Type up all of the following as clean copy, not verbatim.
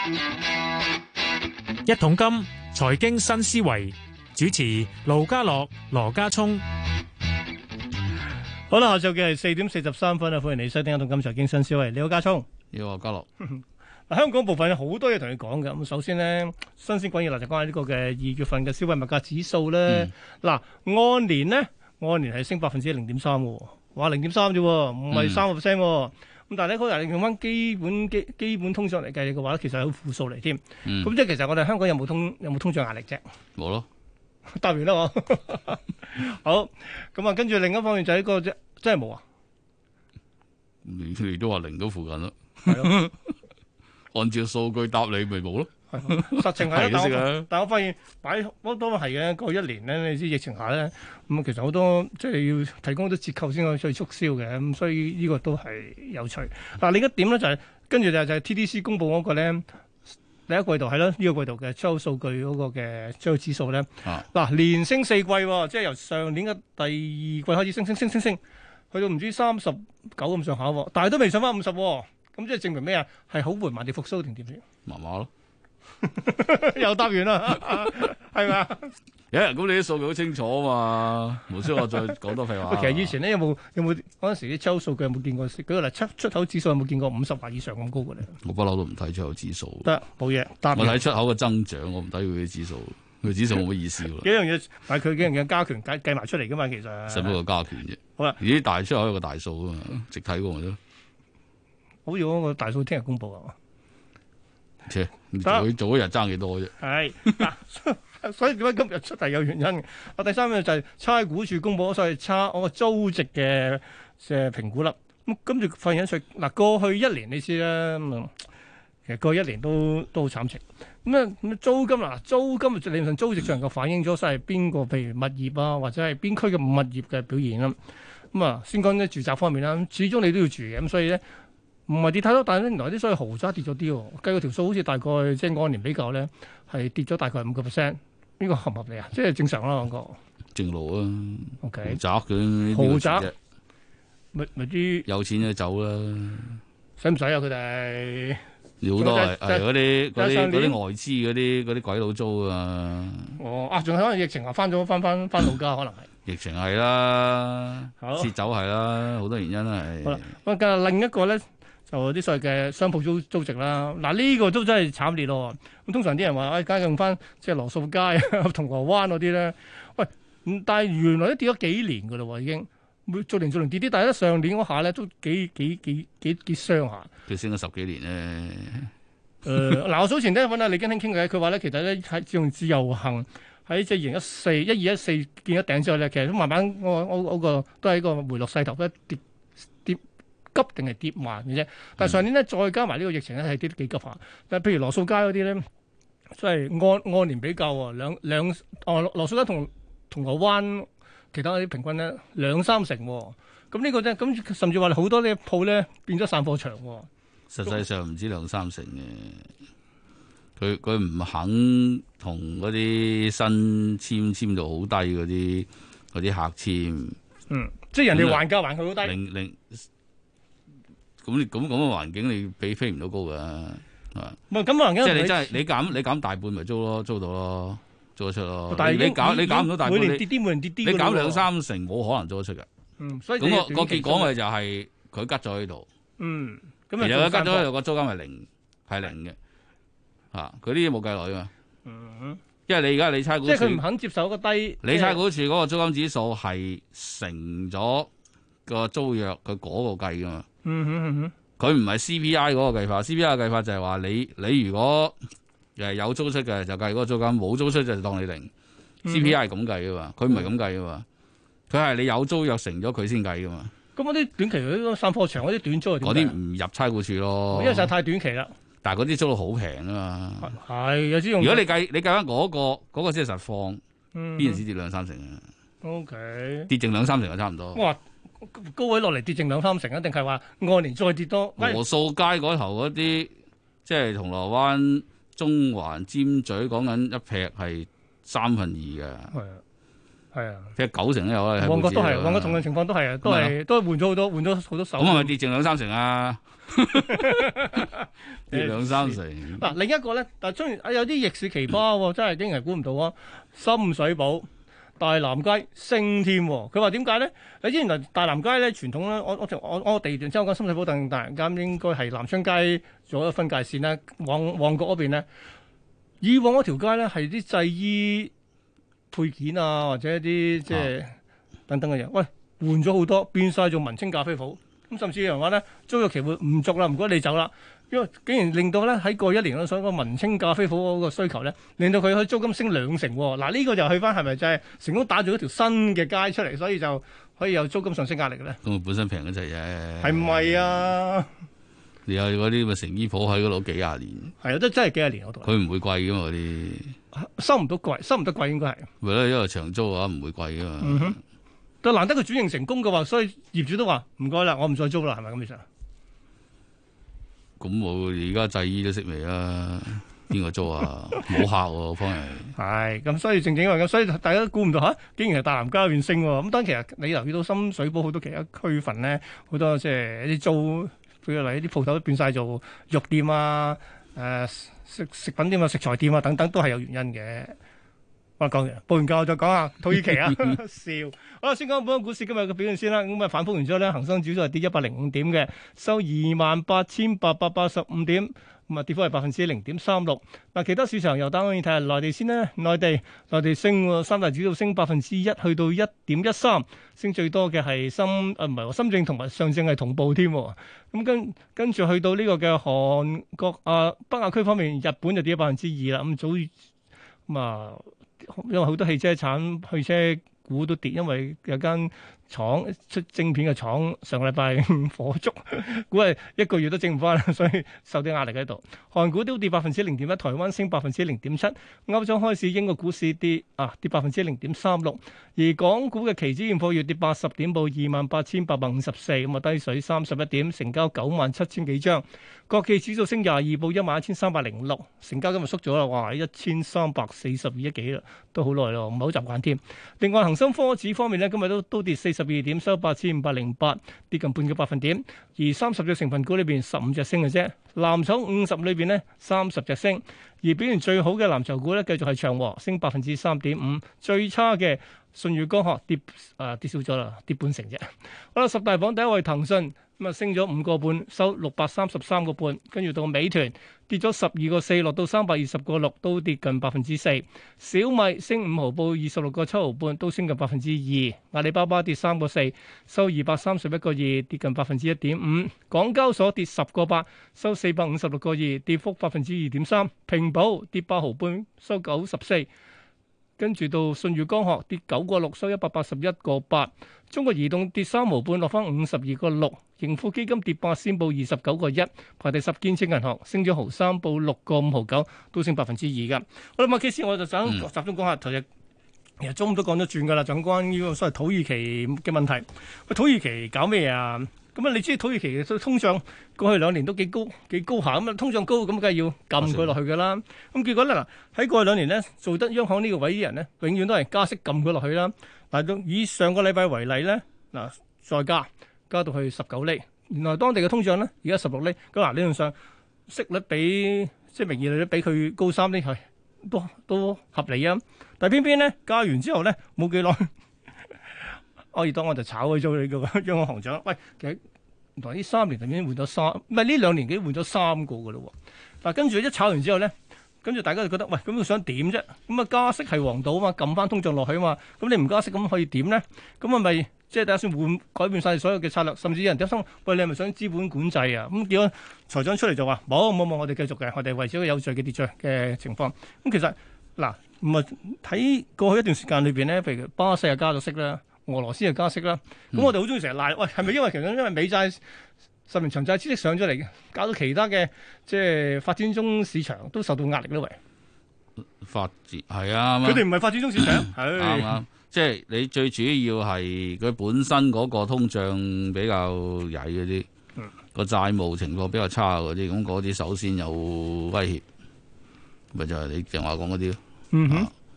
一桶金財經新思維，主持盧家樂、羅家聰。 好啦，下晝嘅係4:43啊，歡迎你收聽一桶金財經新思維。你好，家聰。 你好，家樂。 香港部分有好多嘢同你講嘅。咁首先呢，新鮮滾熱辣就關於呢個嘅2月份嘅消費物價指數咧。嗱、按年係升0.3%喎，話0.3%啫，唔係3%喎。咁但係咧，佢用翻基本通脹嚟計嘅話咧，其實係負數嚟添。咁即係其實我哋香港有冇通脹壓力啫？ 冇咯， 答完啦我。好，咁啊，跟住另一方面就係呢個啫，真係冇啊。 你都話零都附近咯。 係咯。 按照數據答你咪冇咯。 實情係啦， 但我發現都係嘅。過去1年咧，你知疫情下咧，咁其實好多即係要提供好多折扣先可以促銷嘅，咁所以呢個都係有趣。嗱，另一點咧就係跟住就係 TDC 公佈嗰個咧，第一季度係咯，呢個季度嘅出口數據嗰個嘅出口指數咧，嗱連升4季喎，即係由上年嘅第二季開始升，去到唔知39咁上下喎，但係都未上翻50喎，咁即係證明咩啊？係好緩慢地復甦定點先？ 麻麻咯。 又答完啦，係咪？ 咁你啲數據好清楚啊嘛，無需我再講多廢話。 其實以前咧有冇嗰陣時啲出口數據有冇見過？舉個例，出口指數有冇見過50或以上咁高嘅咧？ 我不嬲都唔睇出口指數。 得冇嘢， 我睇出口嘅增長，我唔睇佢啲指數。佢指數冇乜意思喎。 幾樣嘢，但係佢幾樣嘢加權計埋出嚟噶嘛，其實。 使乜個加權啫？ 好啦， 而啲大出口有個大數啊嘛，直睇過咪得。 好似嗰個大數聽日公佈啊！ 做一日爭幾多啫？ 係嗱，所以點解今日出係有原因嘅？第三樣就係差估署公佈咗所謂我個租值嘅評估啦。咁跟住發現嗱，過去1年你知啦，其實過去1年都好慘情。咁租金理論上租值上夠反映咗所謂邊個，譬如物業啊，或者係邊區嘅物業嘅表現啦。咁啊，先講啲住宅方面啦，始終你都要住嘅，咁所以咧。唔係跌太多，但係咧原來啲所謂豪宅跌咗啲喎，計個條數好似大概即係按年比較咧係跌咗大概5%，呢個合唔合理啊？即係正常啦，講個正路啊。 OK， 豪宅咪啲有錢就走啦， 使唔使啊？佢哋好多係嗰啲外資嗰啲鬼佬租啊。 仲有可能疫情下翻老家，可能係疫情係啦，撤走係啦，好多原因啦係。 好啦，咁另一個咧。就啲所謂嘅商鋪租值啦，嗱、呢個都真係慘烈咯。咁通常啲人話，梗係用翻即係羅素街、銅鑼灣嗰啲咧。喂，但係原來都跌咗幾年噶啦喎，已經逐年跌啲，但係咧上年嗰下咧都幾傷下。 佢升咗10幾年咧。 嗱，我早前咧揾阿李根興傾偈，佢話咧其實咧係用自由行喺即係2014見咗頂之後咧，其實都慢慢嗰個都係一個回落勢頭，跌急定係跌慢嘅啫，但係上年咧再加埋呢個疫情咧係跌得幾急下。但係譬如羅素街嗰啲咧，即係按年比較喎，羅素街同銅鑼灣其他嗰啲平均咧2-3成喎。咁呢個咧咁甚至話好多呢鋪咧變咗散貨場喎。 實際上唔止2-3成嘅，佢唔肯同嗰啲新簽到好低嗰啲客簽。 即係人哋還價還佢好低。 咁嘅環境你飛唔到高㗎，係嘛？ 唔係咁環境， 即係你真係你減大半咪租咯，租到咯，租得出咯。 但係你減唔到大半， 每年跌啲， 你減2-3成冇可能租得出㗎。 所以咁個結果咪就係佢吉咗喺度。 咁其實佢吉咗喺度個租金係零嘅，佢啲嘢冇計落去嘛。因為你而家你差估署， 即係佢唔肯接受一個低。 你差估署嗰個租金指數係乘咗個租約佢嗰個計㗎嘛。佢唔係 CPI 嗰個計法 ，CPI 嘅計法就係話你如果有租出嘅就計嗰個租金，冇租出就當你零。CPI 係咁計噶嘛，佢唔係咁計噶嘛，佢係你有租約成咗佢先計噶嘛。 咁嗰啲短期嗰啲散貨場嗰啲短租係點？ 嗰啲唔入差估署咯， 因為實在太短期啦。 但係嗰啲租到好平啊嘛。 係有啲用。 如果你計翻嗰個先係實況，邊陣時跌2-3成啊 ？OK， 跌剩2-3成就差唔多。 哇！高位落嚟跌剩2-3成，一定係話按年再跌多。 羅素街嗰頭嗰啲，即係銅鑼灣、中環、尖咀，講緊一劈係2/3嘅。 係啊， 係啊， 即係90%都有啦。 旺角都係，旺角同樣情況都係啊，都係換咗好多，換咗好多手。 咁係咪跌剩2-3成啊？跌2-3成。 嗱，另一個咧，但係雖然有啲逆市奇葩喎，真係竟然係估唔到啊！深水埗大南街升添，佢話點解咧？你知原來大南街咧傳統咧，我地段即係我講深水埗同大南街應該係南昌街做一個分界線啦。旺角嗰邊咧，以往嗰條街咧係啲製衣配件啊，或者一啲即係等等嘅嘢，喂，換咗好多，變晒做文青咖啡鋪。咁甚至有人話咧，租約期會唔續啦，唔該你走啦。因為竟然令到咧喺過去1年咧，所謂個文青咖啡鋪嗰個需求咧，令到佢可以租金升2成。嗱，呢個就去翻係咪就係成功打造一條新嘅街出嚟，所以就可以有租金上升壓力嘅咧？ 咁本身平嗰陣啫， 係唔係啊？ 你有嗰啲咪成衣鋪喺嗰度幾廿年？ 係啊，真係幾廿年嗰度。 佢唔會貴噶嘛嗰啲， 收唔到貴，收唔得貴應該係。 咪咯，因為長租嘅話唔會貴噶嘛。 但難得佢轉型成功嘅話，所以業主都話唔該啦，我唔再租啦，係咪咁意思啊？ 咁我而家製衣都識未啦？邊個租啊？冇客喎，方人。 係咁，所以正因為咁，所以大家都估唔到嚇，竟然係大南街嗰邊升喎。咁當然其實你留意到深水埗好多其他區份咧，好多即係一啲租，譬如嚟啲鋪頭都變晒做肉店啊、食品店啊、食材店啊等等，都係有原因嘅。我講完，報完價我再講下土耳其啊，笑。好啦，先講本港股市今日嘅表現先啦。咁啊反覆完之後咧，恒生指數係跌105點嘅，收28,885點，咁啊跌幅係0.36%。嗱，其他市場又當然睇下內地先啦。內地升喎，三大指數升1%，去到1.13，升最多嘅係深證同埋上證係同步添。咁跟住去到呢個嘅韓國北亞區方面，日本就跌2%啦。因為好多汽車股都跌，因為有間廠出晶片嘅廠上個禮拜火燭，估係1個月都整唔翻，所以受啲壓力喺度。韓股都跌0.1%，台灣升0.7%。歐洲開市，英國股市跌0.36%，而港股嘅期指現貨月跌80點，報28,854，咁啊低水31點，成交97,000幾張。國企指數升22，報11,306，成交今日縮咗啦，哇，1,342億幾啦，都好耐咯，唔係好習慣添。另外恒生科指方面咧，今日都跌42點，收8,508，跌近半個百分點。而30隻成分股裏邊15隻升嘅啫，藍籌50裏邊咧30隻升，而表現最好嘅藍籌股咧繼續係長和，升3.5%，最差嘅舜宇光學跌少咗啦，跌半成啫。好啦，十大榜第一位騰訊。咁啊，升咗5個半，收633個半，跟住到美團跌咗12個4，落到320個6，都跌近4%。小米升5毫，報26個7毫半，都升近2%。阿里巴巴跌3個4，收231個2，跌近1.5%。港交所跌10個8，收456個2，跌幅2.3%。平保跌8毫半，收94。跟住到舜宇光學跌9個6，收181個8。中國移動跌3毫半，落翻52個6。盈富基金跌8仙，報29個1。排第10，建設銀行升咗毫3，報6個5毫9，都升2%噶。好啦，麥基斯，我就想集中講下頭日，其實中午都講咗轉噶啦，就關於個所謂土耳其嘅問題。喂，土耳其搞咩啊？咁啊，你知土耳其嘅通脹過去2年都幾高下，咁啊通脹高，咁梗係要撳佢落去噶啦。咁結果咧嗱，喺過去2年咧，做得央行呢個位啲人咧，永遠都係加息撳佢落去啦。嗱，到以上個禮拜為例咧，嗱再加到去19厘，原來當地嘅通脹咧而家16厘，咁嗱理論上息率比即係名義利率比佢高3厘係都合理啊。但係偏偏咧加完之後咧冇幾耐，愛爾多安就炒咗你個央行行長。喂，其實原來呢3年已經換咗唔係呢2年幾換咗3個噶咯。嗱，跟住一炒完之後咧，跟住大家就覺得喂，咁佢想點啫？咁啊加息係王道啊嘛，撳翻通脹落去啊嘛。咁你唔加息咁可以點咧？咁啊咪即係打算改變晒所有嘅策略，甚至有人擔心喂，你係咪想資本管制啊？咁結果財長出嚟就話冇，我哋繼續嘅，我哋維持一個有序嘅秩序嘅情況。咁其實嗱，唔係睇過去一段時間裏邊咧，譬如巴西又加咗息啦。俄羅斯又加息啦，咁我哋好中意成日賴，喂，係咪因為美債10年長債孳息上咗嚟，搞到其他嘅即係發展中市場都受到壓力咧？喂， 發展係啊， 佢哋唔係發展中市場， 啱，即係你最主要係佢本身嗰個通脹比較曳嗰啲，個債務情況比較差嗰啲，咁嗰啲首先有威脅，咪就係你正話講嗰啲咯。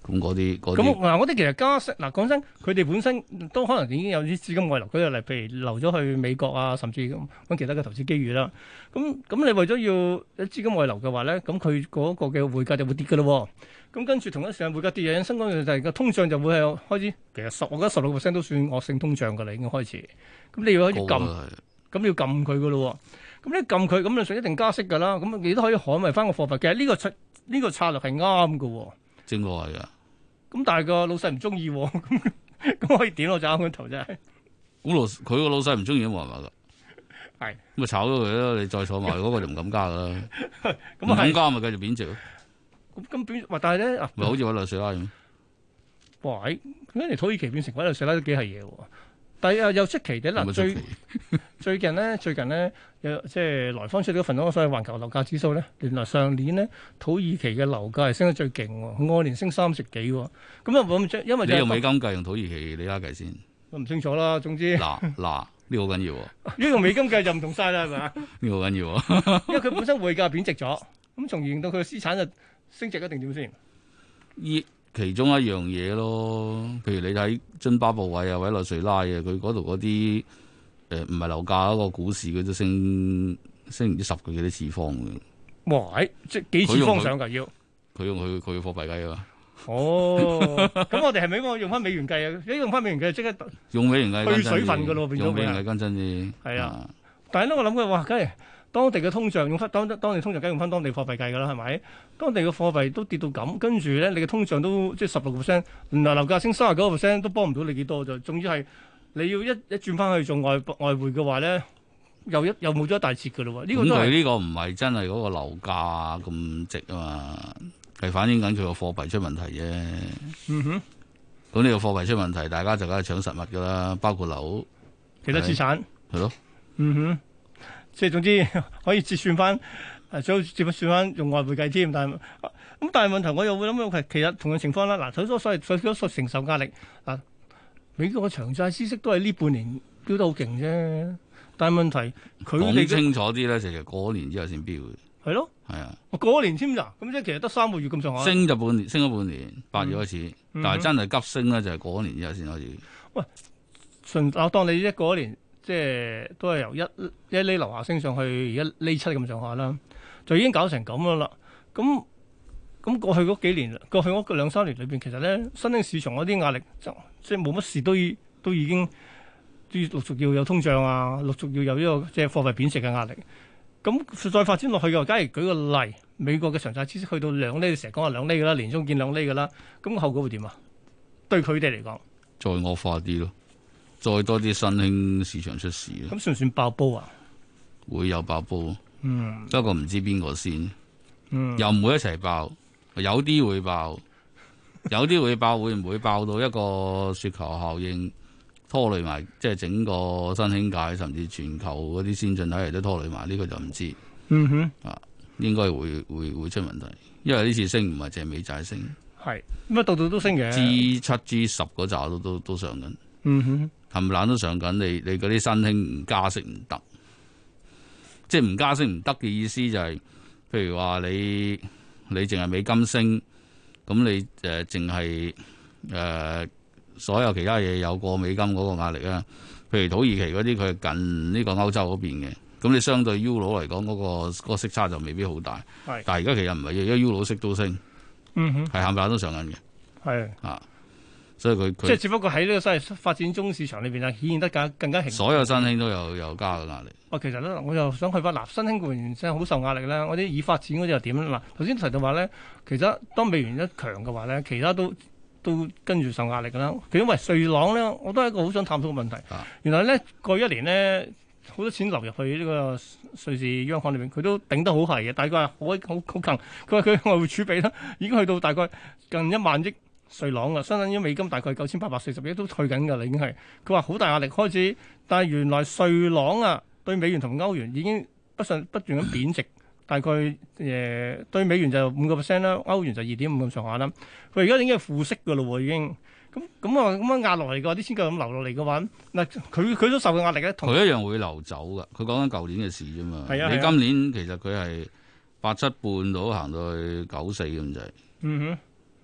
咁嗰啲嗰啲其實加息講真，佢哋本身都可能已經有啲資金外流，舉個例，譬如流咗去美國啊，甚至揾其他嘅投資機遇啦。咁你為咗要資金外流嘅話咧，咁佢嗰個嘅匯價就會跌㗎咯。咁跟住同一時間匯價跌，引申嗰樣就係個通脹就會係開始，其實我覺得16%都算惡性通脹㗎啦，已經開始。咁你要開始撳，咁要撳佢㗎咯。咁你撳佢，咁就一定加息㗎啦。咁你都可以捍衞翻個貨幣。其實呢個策略係啱㗎。 正路係㗎。 咁但係個老細唔中意，咁可以點我就啱佢頭真係。 咁佢個老細唔中意都冇辦法㗎。 係。 咁咪炒咗佢咯，你再坐埋嗰個就唔敢加㗎啦。唔咁敢加咪繼續貶值咯。 咁貶，但係咧， 咪好似委內瑞拉咁。 哇！跟住土耳其變成委內瑞拉都幾係嘢喎。但係又出奇嘅嗱，最近咧，有即係來方出咗份嗰個所謂環球樓價指數咧，原來上年咧土耳其嘅樓價係升得最勁喎，按年升30幾喎。咁又冇因為你用美金計用土耳其里拉計先？ 我唔清楚啦。總之嗱呢個好緊要喎。 呢個美金計就唔同晒啦，係咪啊？ 呢個好緊要喎。 因為佢本身匯價貶值咗，咁從而令到佢嘅資產就升值一定點先？ 其中一樣嘢咯，譬如你睇津巴布韋啊、委內瑞拉啊，佢嗰度嗰啲唔係樓價嗰個股市，佢都升唔知10個幾多次方嘅。 哇！即係幾次方上㗎要？ 佢用佢嘅貨幣計啊嘛。 哦，咁我哋係咪應該用翻美元計啊？如果用翻美元計，即刻用美元計去水分㗎咯，變咗用美元計跟真啲。 係啊，但係咧，我諗佢話，梗係當地嘅通脹用翻當地通脹，梗係用翻當地貨幣計㗎啦，係咪？當地嘅貨幣都跌到咁，跟住咧，你嘅通脹都即係16%，原來樓價升39%都幫唔到你幾多就，總之係你要一轉翻去做外匯嘅話咧，又冇咗一大截㗎咯喎。呢個都係呢個唔係真係嗰個樓價咁值啊嘛，係反映緊佢個貨幣出問題啫。 嗯哼， 咁呢個貨幣出問題，大家就梗係搶實物㗎啦，包括樓、 其他資產係咯。 嗯哼。即係總之可以折算翻，最好折算翻用外匯計添。但係問題我又會諗，其實同樣情況啦。嗱，所謂承受壓力嗱，美國嘅長債孳息都係呢半年飆得好勁啫。但係問題佢哋講清楚啲咧，其實過年之後先飆嘅。 係咯， 係啊， 過年添咋？咁即係其實得3個月咁上下。 升咗半年，8月開始，但係真係急升咧，就係過年之後先開始。 喂，我當你一過年。即係都係由一厘樓下升上去，而家1.7厘咁上下啦，就已經搞成咁樣啦。咁過去嗰幾年，過去嗰2-3年裏邊，其實咧新興市場嗰啲壓力即係冇乜事都已經陸續要有通脹啊，陸續要有呢個即係貨幣貶值嘅壓力。咁再發展落去嘅話，假如舉個例，美國嘅長債孳息去到2厘，成日講話2厘㗎啦，年中見2厘㗎啦，咁個後果會點啊？對佢哋嚟講， 再惡化啲咯。再多啲新興市場出事， 咁算唔算爆煲啊？ 會有爆煲，不過唔知邊個先，又唔會一齊爆，有啲會爆，有啲會爆，會唔會爆到一個雪球效應拖累埋，即係整個新興界甚至全球嗰啲先進體系都拖累埋，呢個就唔知。應該會出問題，因為呢次升唔係淨係美債升， 係咁啊，度度都升嘅 ，G7、G10嗰扎都上緊。冚唪唥都上緊，你嗰啲新興唔加息唔得，即係唔加息唔得嘅意思就係、是，譬如話你淨係美金升，咁你淨係所有其他嘢有過美金嗰個壓力啊。譬如土耳其嗰啲佢係近呢個歐洲嗰邊嘅，咁你相對 Euro 嚟講嗰個息差就未必好大。但係而家其實唔係嘅，因為 Euro 息都升，係冚唪唥都上緊嘅。係啊。所以佢即係只不過喺呢個所謂發展中市場裏邊啊，顯現得更加所有新興都有加嘅壓力。 其實咧，我又想去翻嗱，新興固然真係好受壓力啦。我啲已發展嗰啲又點咧？嗱，頭先提到話咧，其實當美元一強嘅話咧，其他都跟住受壓力㗎啦。因為瑞郎咧，我都係一個好想探討嘅問題。原來咧過去1年咧，好多錢流入去呢個瑞士央行裏邊，佢都頂得好係嘅。大概係好強。佢話佢外匯儲備咧已經去到大概近1萬億瑞郎啊，相當於美金大概9840億都退緊㗎啦，已經係佢話好大壓力開始，但係原來瑞郎啊對美元同歐元已經不斷咁貶值，大概對美元就5%啦，歐元就2.5咁上下啦。佢而家已經係負息㗎咯喎，已經咁樣壓落嚟嘅話，啲錢夠咁流落嚟嘅話，嗱佢都受嘅壓力咧， 佢一樣會流走㗎。佢講緊舊年嘅事啫嘛。你今年其實佢係87半到行到去94咁滯。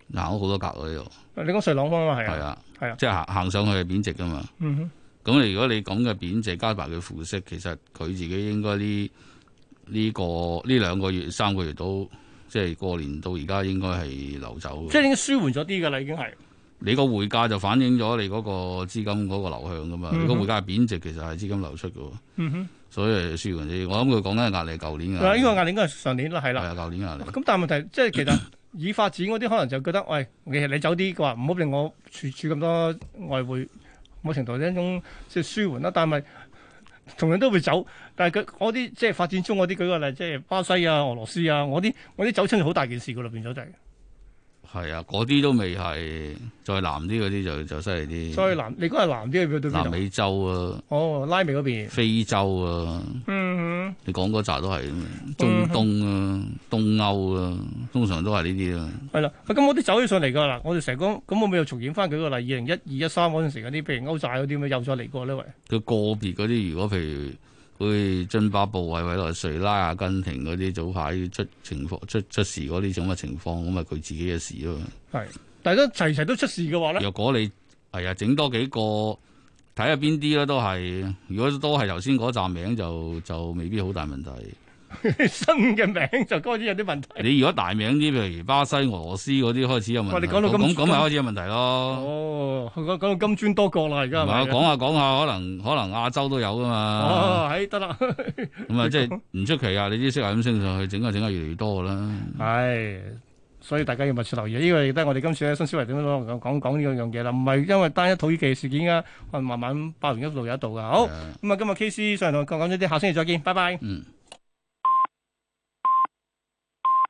行咗好多格喎呢度。 你講瑞朗方啊嘛，係係啊， 啊，即係行上去係貶值噶嘛。 嗯咁你如果你講嘅貶值加埋佢負息，其實佢自己應該呢兩個月3個月都即係過年到而家應該係流走嘅。 即係已經舒緩咗啲㗎啦，已經係。 你個匯價就反映咗你嗰個資金嗰個流向噶嘛。你個匯價係貶值，其實係資金流出嘅。所以係舒緩啲。我諗佢講緊係壓力，舊年嘅。 呢個壓力應該係上年啦，係啦。 係啊，舊年壓力。 咁但係問題即係其實已發展嗰啲可能就覺得，喂，其實你走啲嘅話，唔好令我儲咁多外匯，某程度係一種即係舒緩啦。但係同樣都會走，但係佢嗰啲即係發展中嗰啲，舉個例，即係巴西啊、俄羅斯啊，我啲走親就好大件事㗎啦，變咗就係。 係啊，嗰啲都未係，再南啲嗰啲就犀利啲。 再南，你講係南啲去到邊度？ 南美洲啊， 哦，拉美嗰邊， 非洲啊，你講嗰扎都係中東啊、東歐啊，通常都係呢啲啊。 係啦，咁我啲走起上嚟㗎啦，我哋成日講，咁我咪又重演翻舉個例，2012、13嗰陣時嗰啲，譬如歐債嗰啲咪又再嚟過呢？喂， 佢個別嗰啲，如果譬如好似津巴布韋、委內瑞拉、阿根廷嗰啲早排出事嗰啲咁嘅情況，咁咪佢自己嘅事咯。 係，但係都齊都出事嘅話咧， 若果你係啊，整多幾個睇下邊啲咧都係，如果都係頭先嗰站名就未必好大問題。 新嘅名就開始有啲問題。 你如果大名啲，譬如巴西、俄羅斯嗰啲開始有問題， 你講到咁咪開始有問題咯。 哦，講到金磚多國啦，而家係咪？ 講下，可能亞洲都有噶嘛。 哦，係得啦。 咁啊，即係唔出奇啊！你啲息係咁升上去，整下越嚟越多噶啦。 係，所以大家要密切留意。呢個亦都係我哋今次咧新思維點樣講呢樣嘢啦。唔係因為單一土耳其事件啊，可能慢慢爆完一度有一度噶。好，咁啊，今日 KC 上嚟同我講咗啲，下星期再見，拜拜。 嗯。